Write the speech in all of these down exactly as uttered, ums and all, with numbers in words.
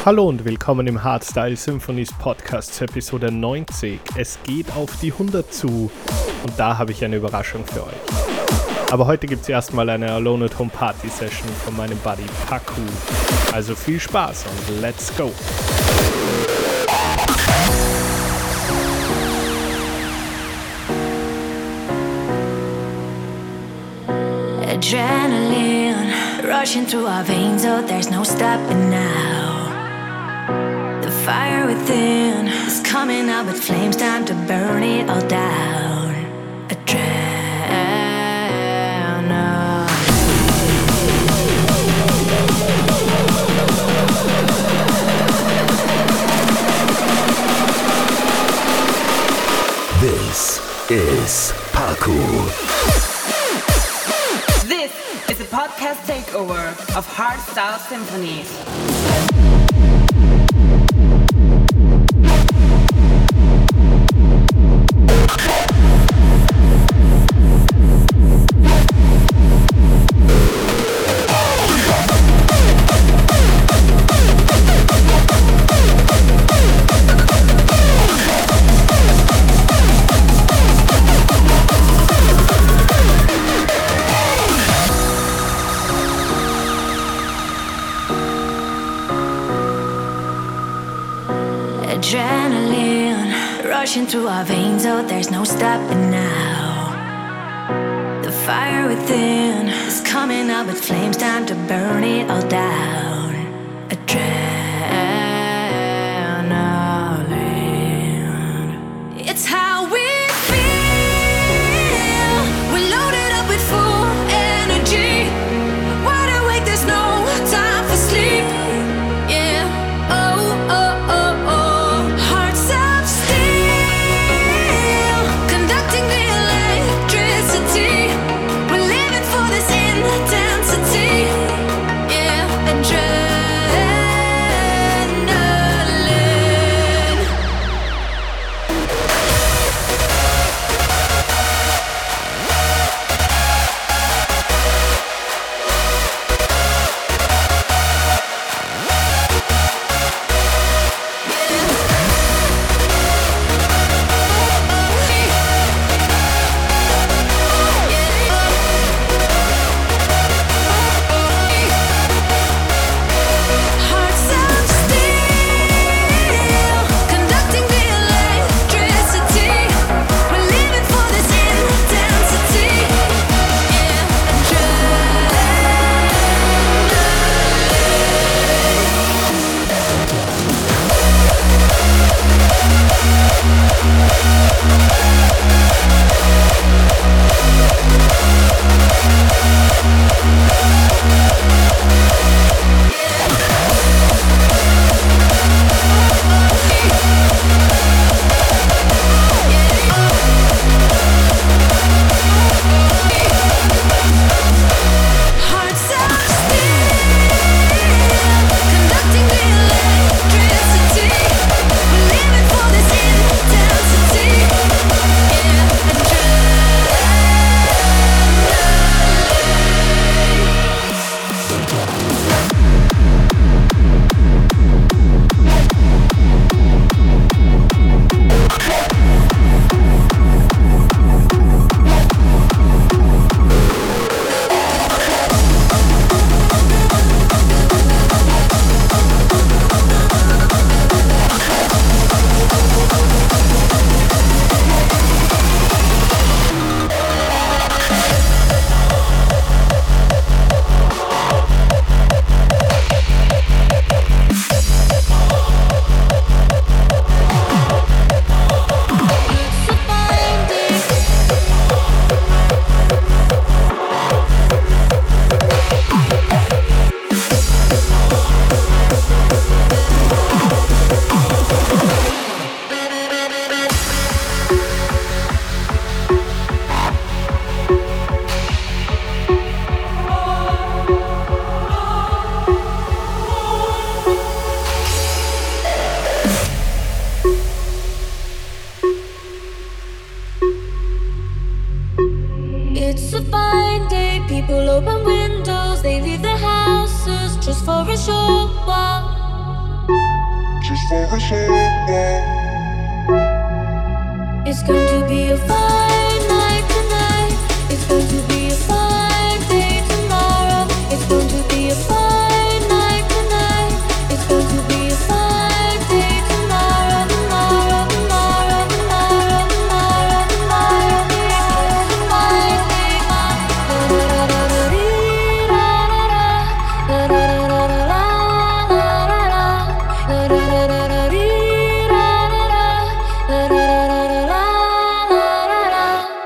Hallo und willkommen im Hardstyle Symphonies Podcast Episode neunzig. Es geht auf die hundert zu und da habe ich eine Überraschung für euch. Aber heute gibt es erstmal eine Alone at Home Party Session von meinem Buddy Paku. Also viel Spaß und let's go! Adrenaline rushing through our veins, oh there's no stopping now. The fire within is coming out with flames, time to burn it all down. Adrenaline. This is Paku. It's a podcast takeover of Hardstyle Symphonies. Adrenaline rushing through our veins, oh there's no stopping now. The fire within is coming up with flames, time to burn it all down. Adrenaline. It's how we feel. We're loaded up with full energy. Wide awake, there's no time for sleep. Yeah. Oh, oh, oh. It's a fine day, people open windows, they leave their houses just for a short while. It's going to be a fine night tonight. It's going to be a fine day tomorrow. It's going to be a fine night tonight. It's going to be a fine day tomorrow. Tomorrow, tomorrow, tomorrow, tomorrow, tomorrow. It's a fine day. La da da da da la la la la. La da da da da dee da da da. La da da da da la la la la.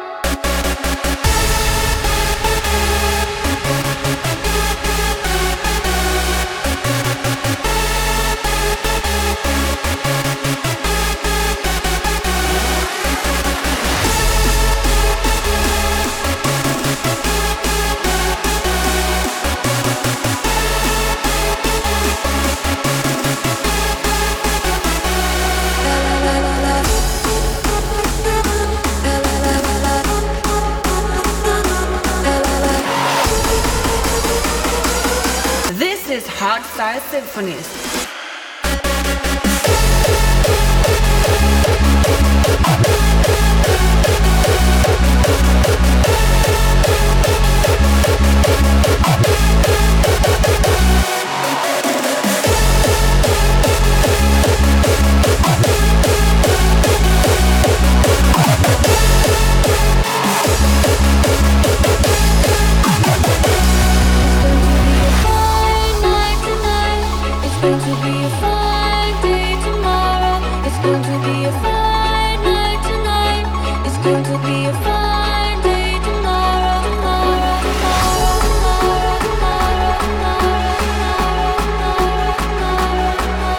This is Hardstyle Symphonies. Fine night tonight. It's going to be a fine day tomorrow. It's going to be a fine night tonight. It's going to be a fine day tomorrow. Tomorrow, tomorrow, tomorrow, tomorrow, tomorrow, tomorrow,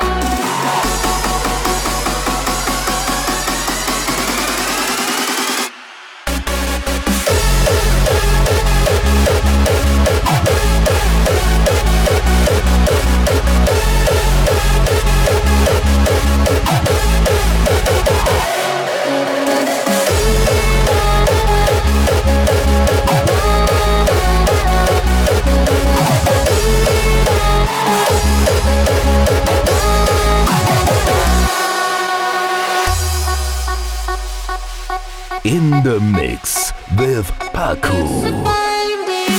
In the mix with Paku. fine day.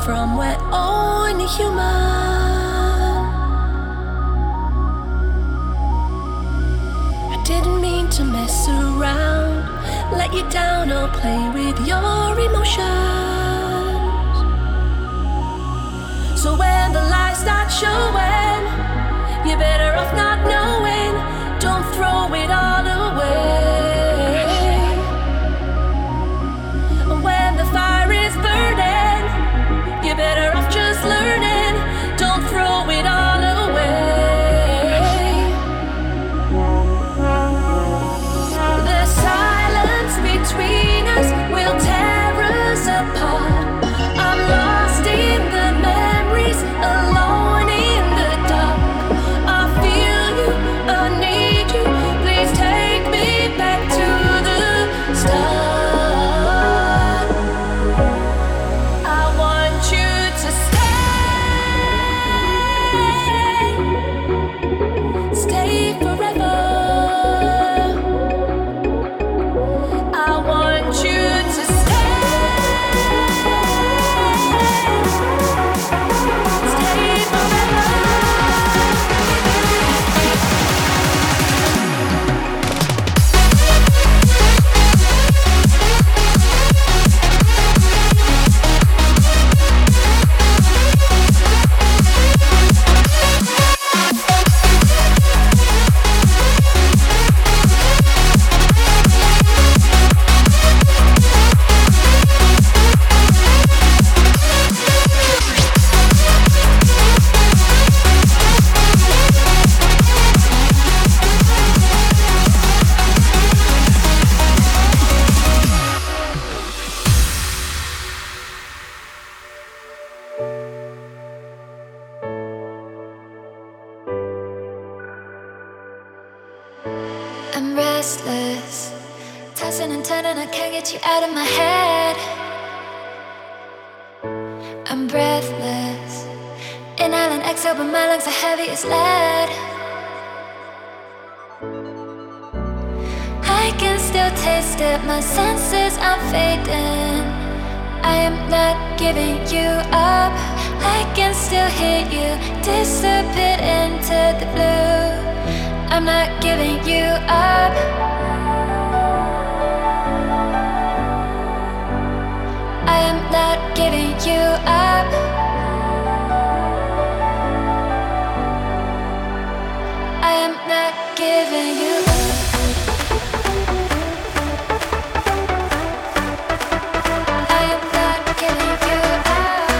from we're only human. I didn't mean to mess around, let you down or play with your emotions. So when the lies start showing, you're better off not knowing. Don't throw it all away. When the fire is burning, you're better off just learning. Don't throw it all away. The silence between us will tear us apart. I'm lost in the memories, alone in the dark. I feel you, I need you. Please take me back to the start. I want you to stay, stay forever. I want you to stay, stay forever. I'm restless, tossing and turning, I can't get you out of my head. I'm breathless, inhale and exhale, but my lungs are heavy as lead. I can still taste it, my senses are fading. I am not giving you up. I can still hear you disappear into the blue. I'm not giving you up. I am not giving you up. I am not giving you up. I am not giving you up.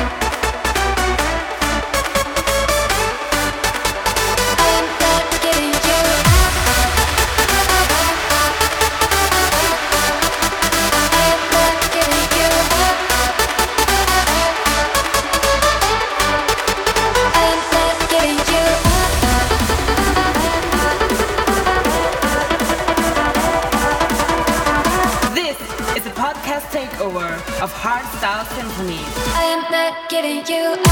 I am not giving you up. I am not giving you up. I am not giving you This is a podcast takeover of Hardstyle Symphony. I am not giving you up.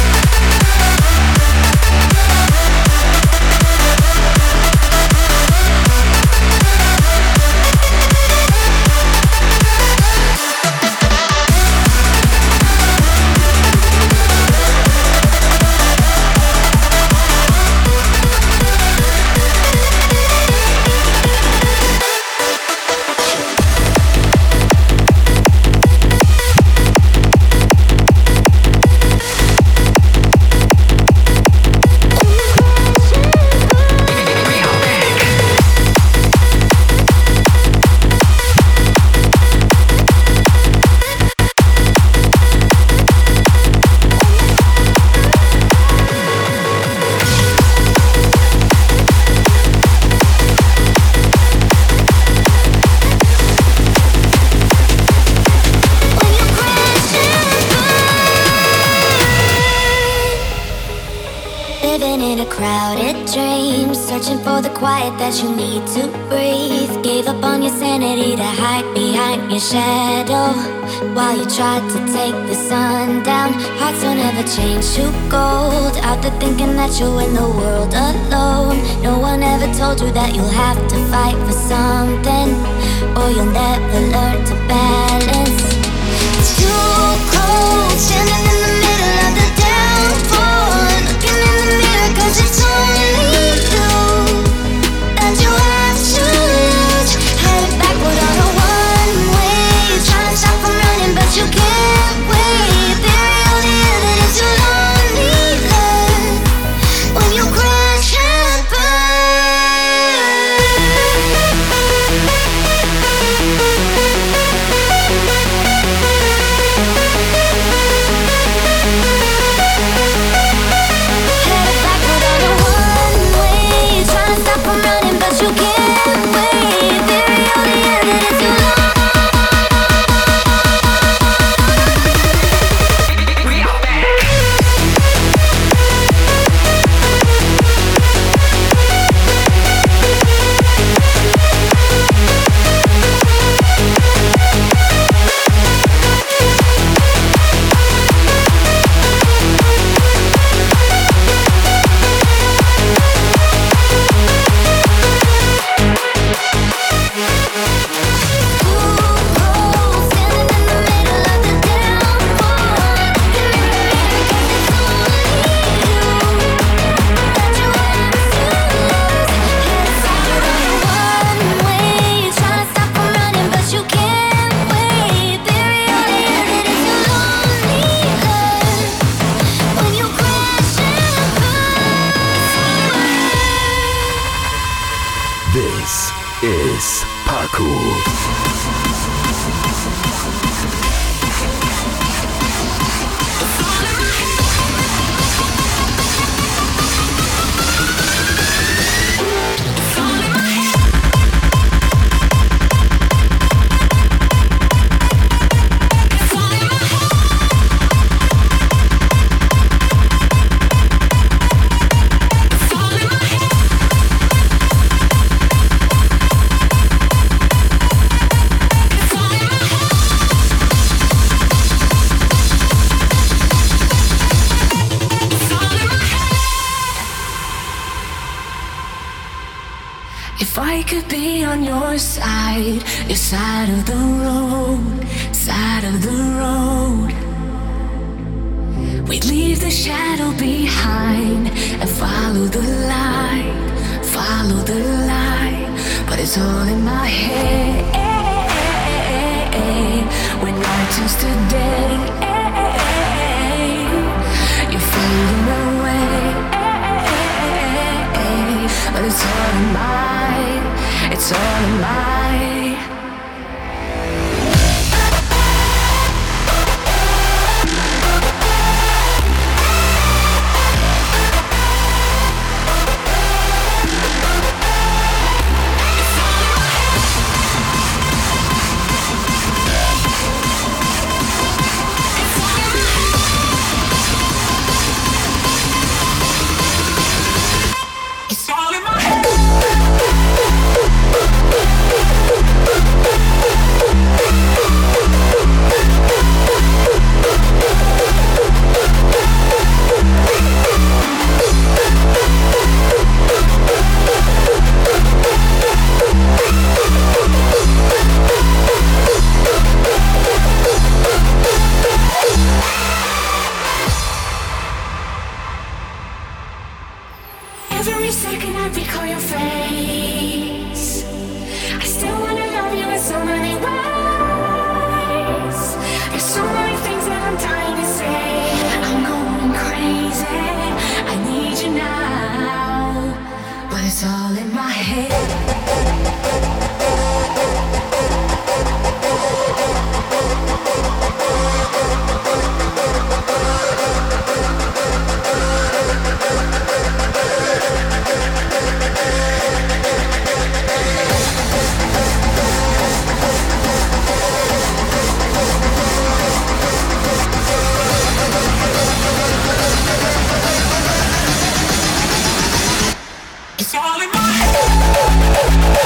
Searching for the quiet that you need to breathe. Gave up on your sanity to hide behind your shadow while you tried to take the sun down. Hearts don't ever change to gold. Out there thinking that you're in the world alone. No one ever told you that you'll have to fight for something, or you'll never learn to balance. It's too cold, standing in the middle. Paco. If I could be on your side, your side of the road, side of the road, we'd leave the shadow behind and follow the light, follow the light. But it's all in my head. When night turns to day, you're fading away. But it's all in my, it's all in my. Every second I recall your face. I still wanna love you in so many ways. There's so many things that I'm dying to say. I'm going crazy, I need you now. But it's all in my head. It's all in my head.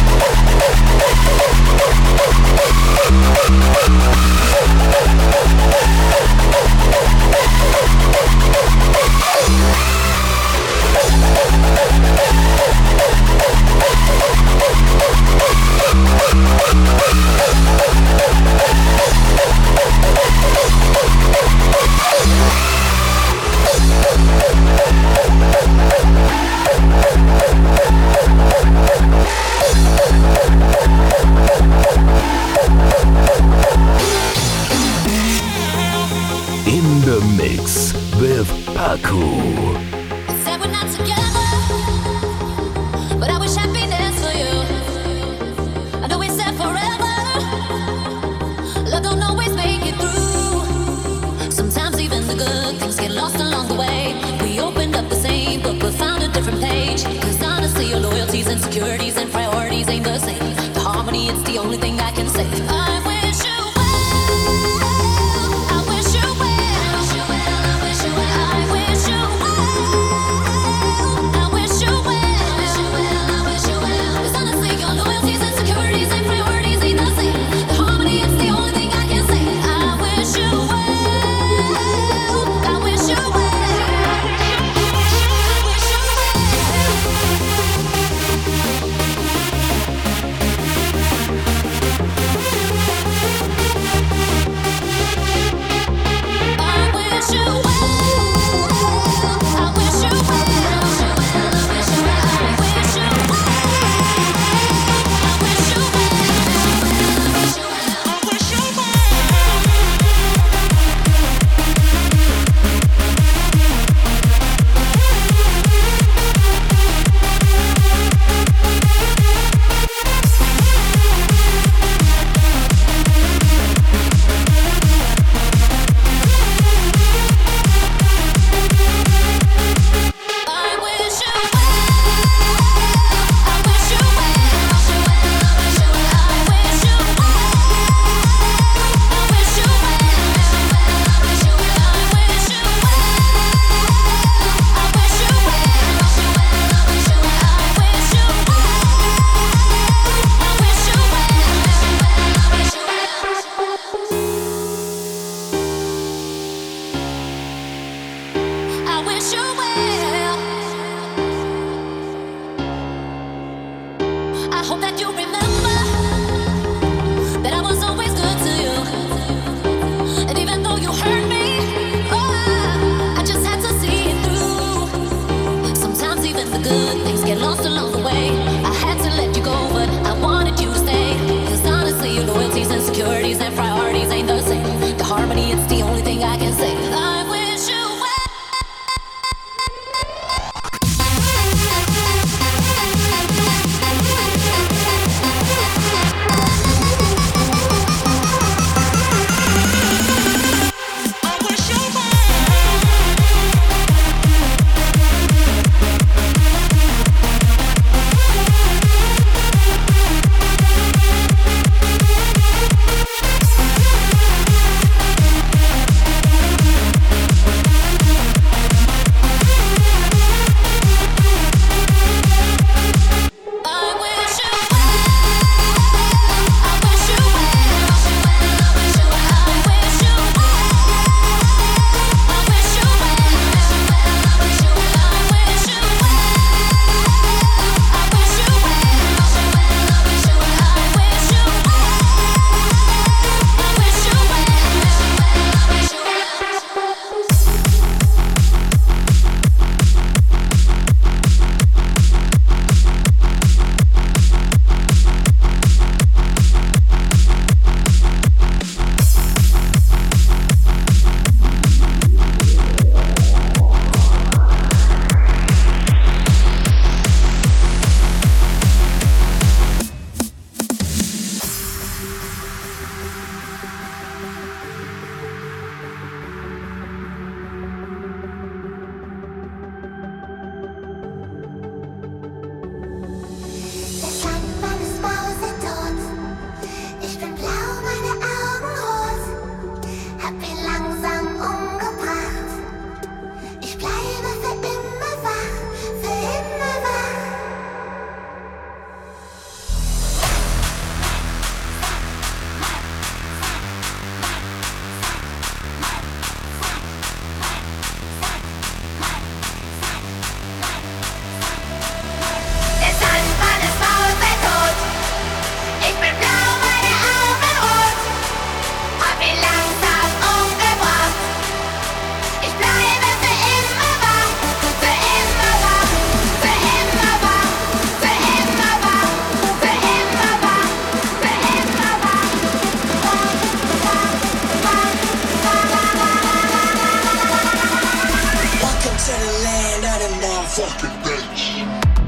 In the mix with Paco. Said we're not together, but I wish happiness for you. I know we said forever, love don't always make it through. Sometimes even the good things get lost along the way. We opened up the same book but found a different page. Cause honestly your loyalties, insecurities and priorities ain't the same. The harmony, it's the only thing I can say. I wish you well, I wish you well. It's fucking bass.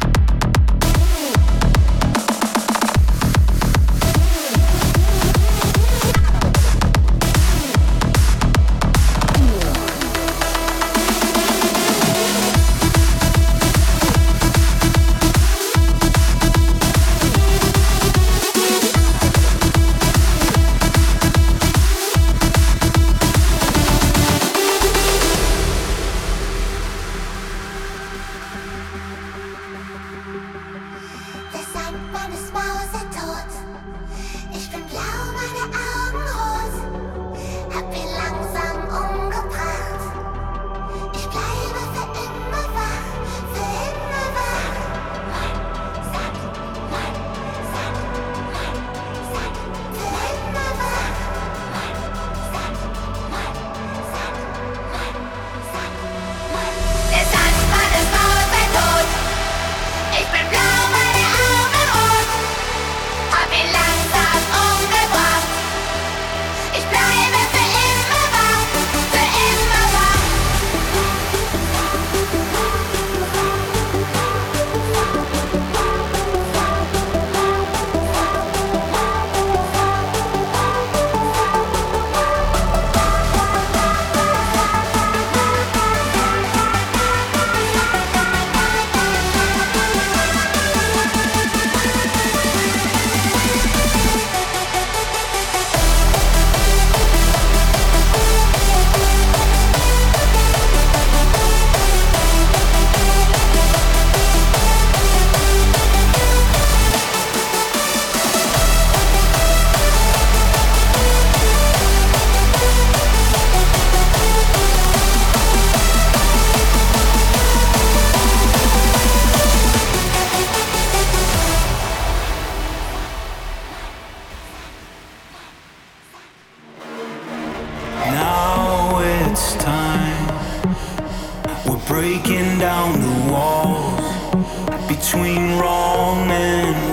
breaking down the walls between wrong and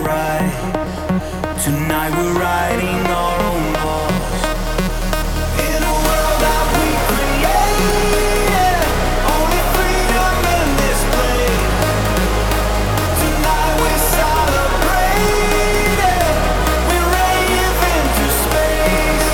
right. Tonight we're writing our own laws in a world that we created. Only freedom in this place. Tonight we celebrate it. We rave into space.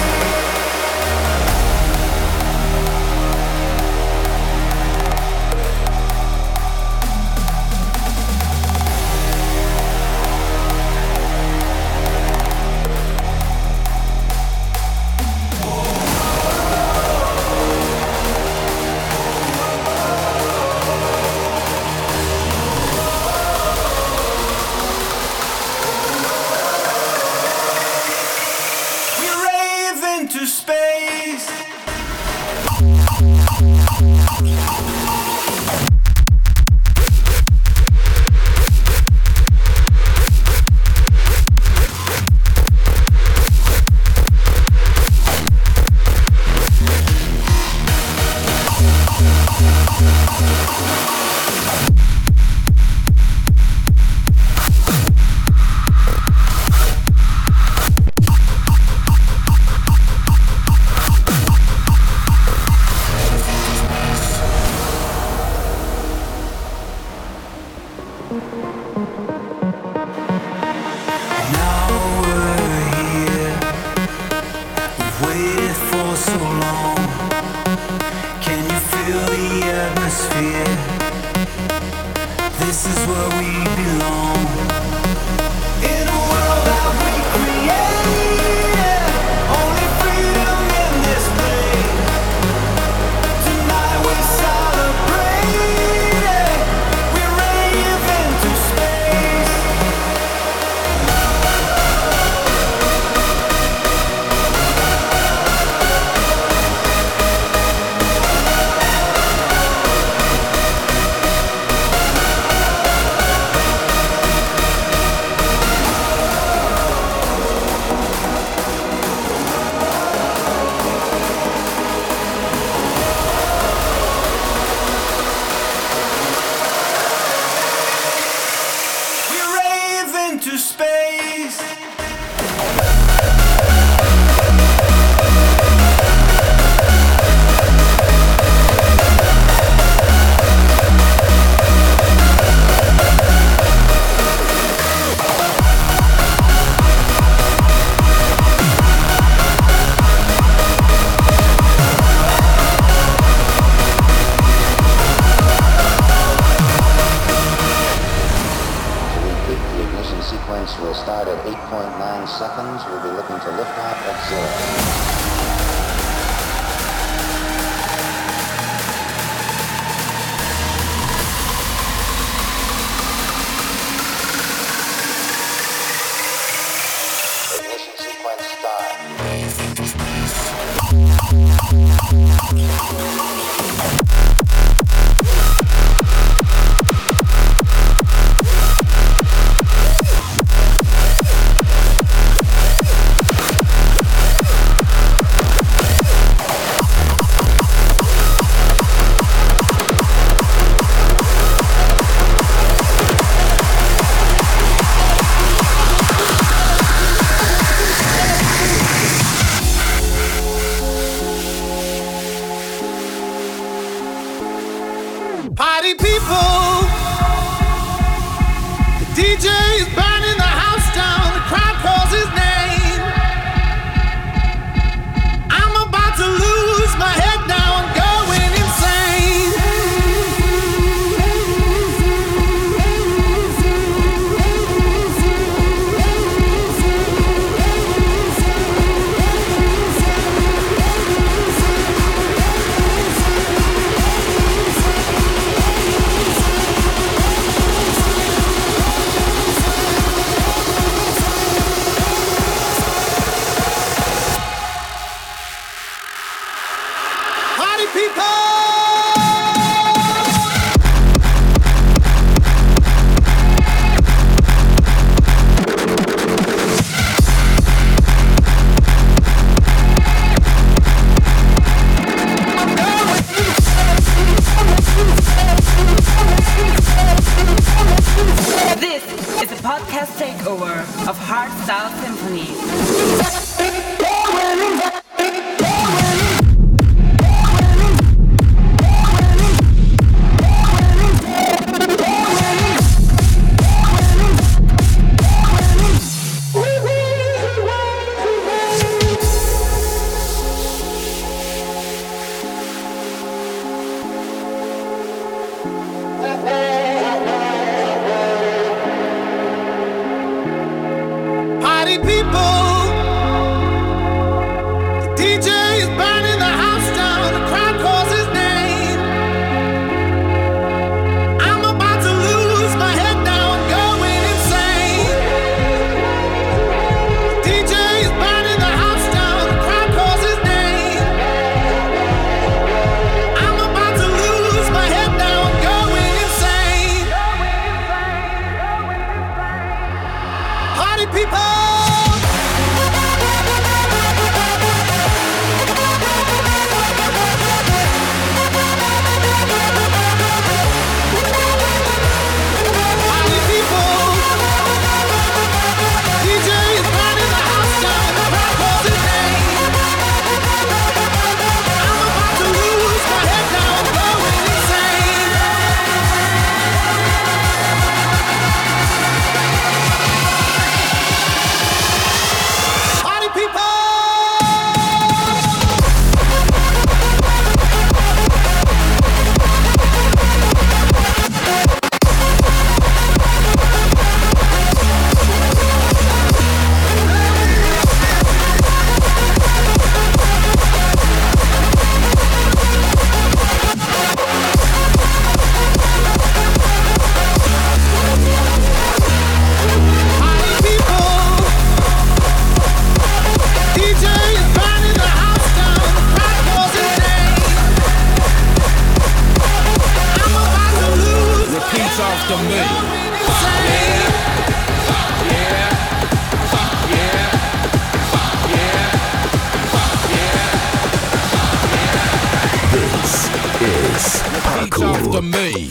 To space. point nine seconds. We'll be looking to lift off at zero. Party people, the D J is burning the house down, the crowd calls his name. I'm about to lose my head now, I'm going insane. Takeover of Hardstyle Symphony. Party people, the D J is burning the house down, the crowd calls his name. I'm about to lose my head now, I'm going insane. The D J is burning the house down, the crowd calls his name. I'm about to lose my head now, I'm going insane. Party people. After me. Yeah, yeah, yeah, yeah, yeah. This is Repeat after me.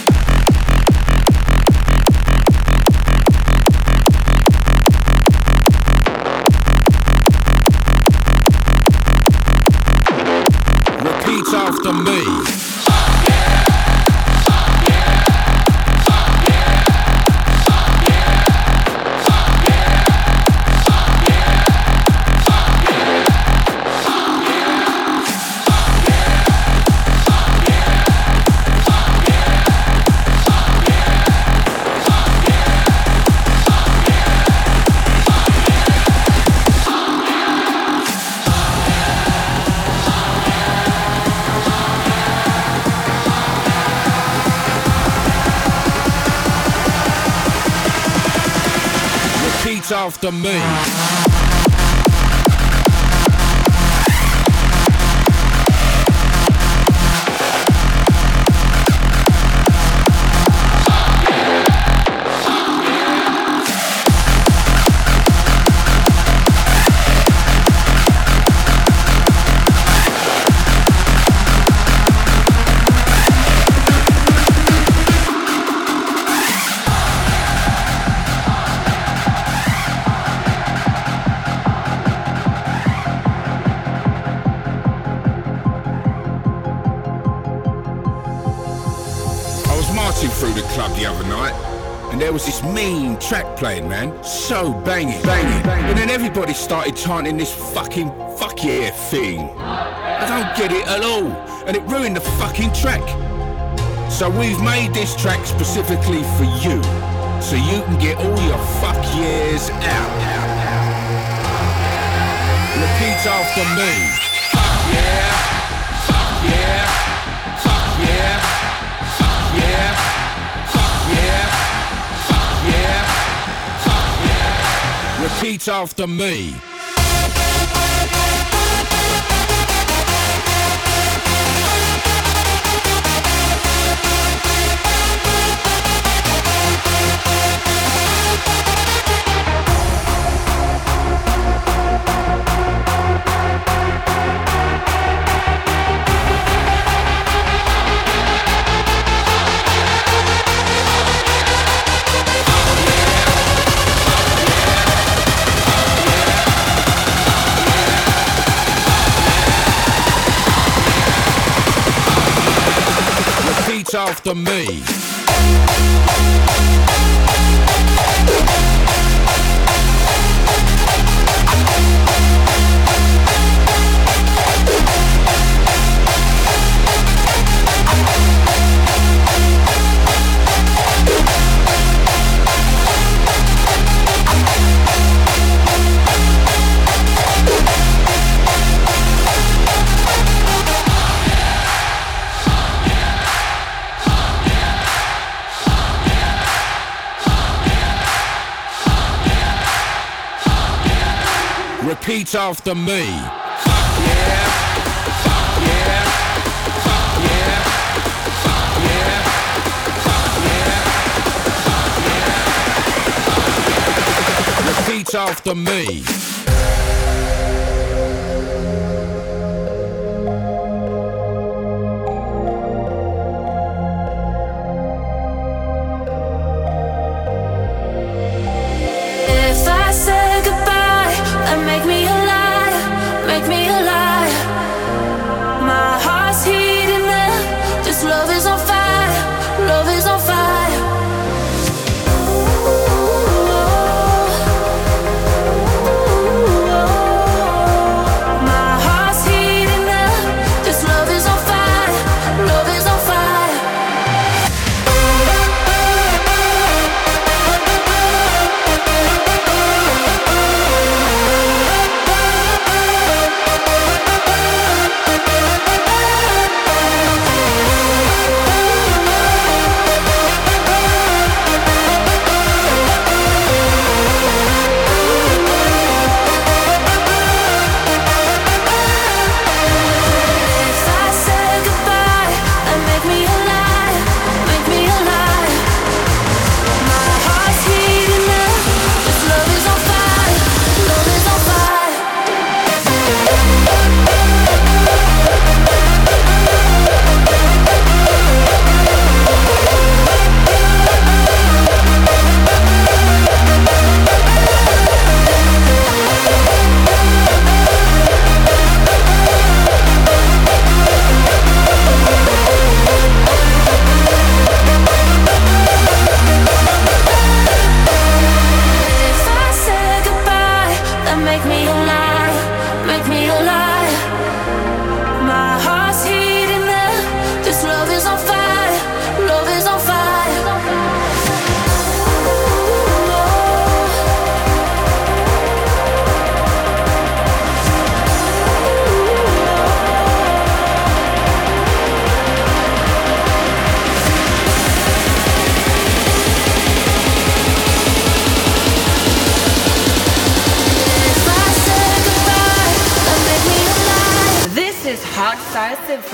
Repeat after me. Repeat after me. Through the club the other night, and there was this mean track playing, man, so banging, banging, and then everybody started chanting this fucking fuck yeah thing. I don't get it at all, and it ruined the fucking track. So we've made this track specifically for you, so you can get all your fuck yeahs out. Repeat after me. Fuck yeah, fuck yeah, fuck yeah, fuck yeah. Repeat after me. After me. Repeat after me. Fuck yeah, fuck yeah, fuck yeah, fuck yeah, fuck yeah, fuck yeah. Repeat after me. If I say goodbye, then make me a liar, make me a liar. My heart's heating up, this love is on fire, love is on fire. Ooh, ooh, ooh.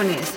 Symphonies.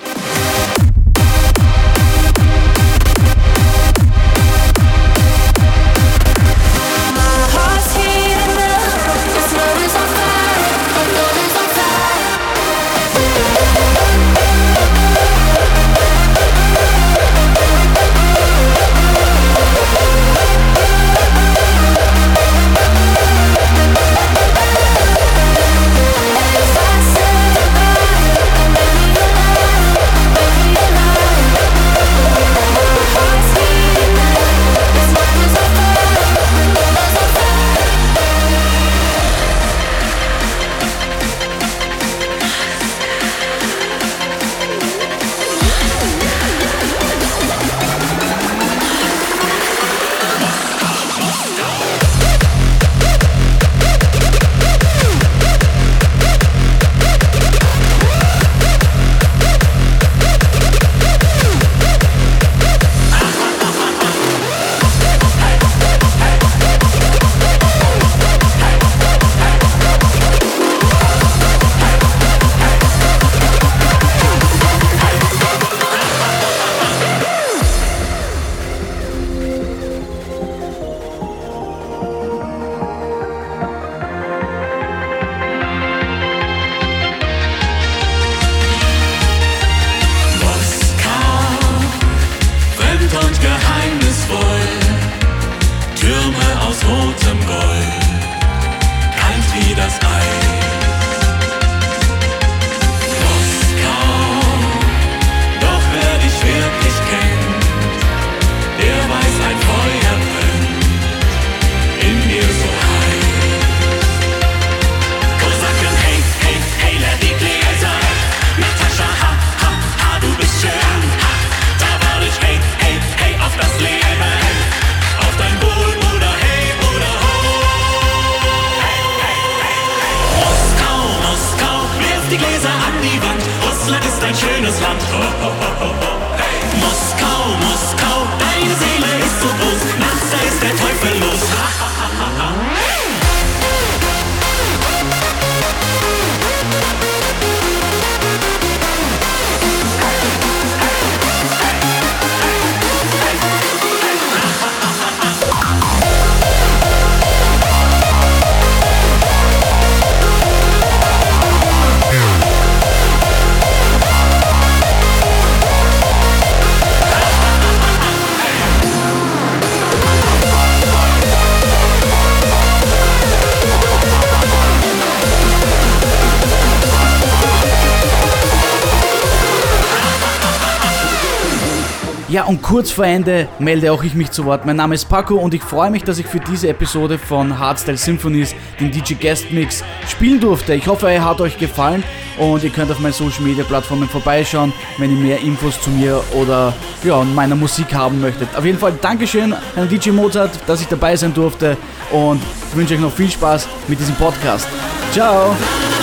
Ja, und kurz vor Ende melde auch ich mich zu Wort. Mein Name ist Paco und ich freue mich, dass ich für diese Episode von Hardstyle Symphonies den D J Guest Mix spielen durfte. Ich hoffe, er hat euch gefallen und ihr könnt auf meinen Social Media Plattformen vorbeischauen, wenn ihr mehr Infos zu mir oder ja, meiner Musik haben möchtet. Auf jeden Fall Dankeschön an D J Mozart, dass ich dabei sein durfte und ich wünsche euch noch viel Spaß mit diesem Podcast. Ciao!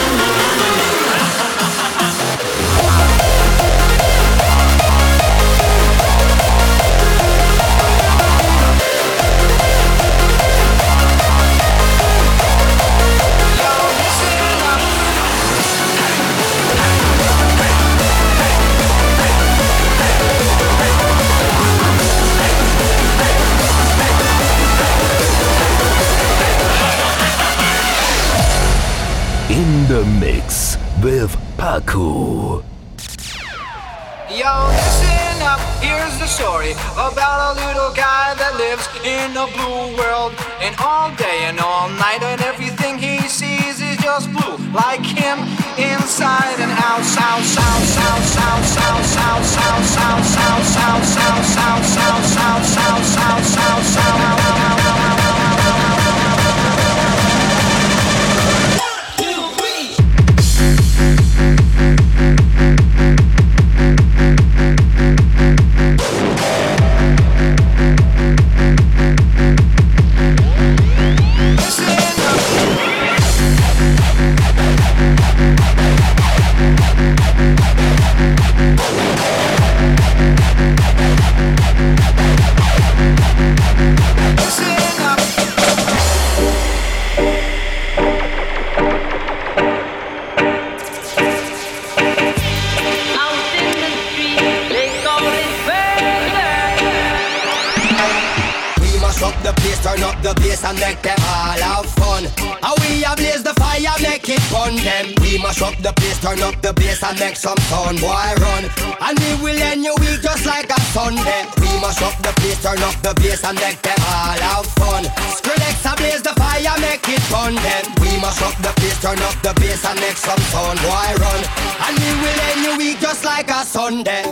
In the mix with Paco. Yo, listen up, here's the story about a little guy that lives in a blue world. And all day and all night and everything he sees is just blue. Like him, inside and out, south, south, south, south, south, south, south, south, south, south, south, south, south, south, south, south, south, south. We'll be right back. mash up the place, turn up the bass and make them all have fun. And we a blaze the fire, make it fun them. We mash up the place, turn up the bass and make some sound, boy run. And we will end your week just like a Sunday. We mash up the place, turn up the bass and make them all have fun. Skrillex a blaze the fire, make it fun them. We mash up the place, turn up the bass and make some sound, boy run. And we will end your week just like a Sunday.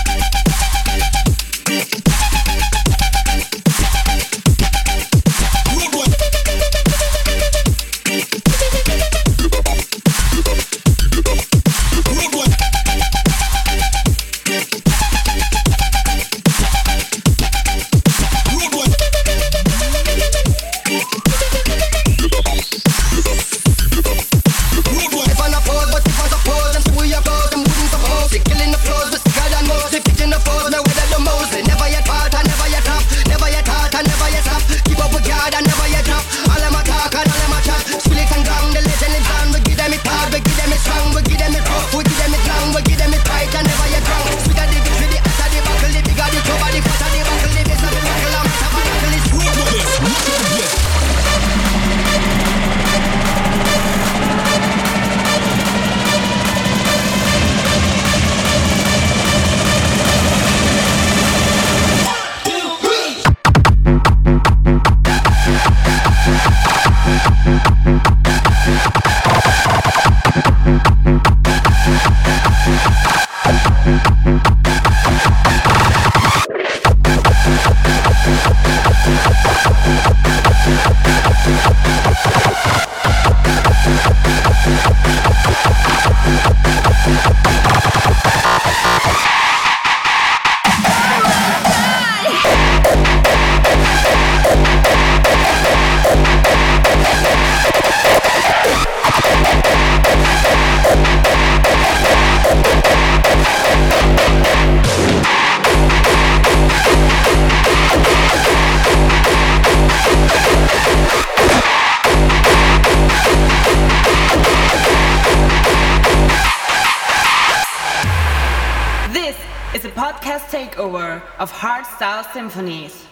Takeover of Hardstyle Symphonies.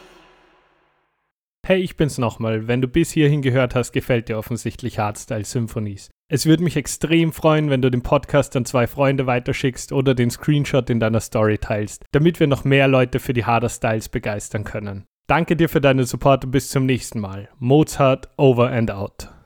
Hey, ich bin's nochmal. Wenn du bis hierhin gehört hast, gefällt dir offensichtlich Hardstyle Symphonies. Es würde mich extrem freuen, wenn du den Podcast an zwei Freunde weiterschickst oder den Screenshot in deiner Story teilst, damit wir noch mehr Leute für die Harder Styles begeistern können. Danke dir für deinen Support und bis zum nächsten Mal. Mozart over and out.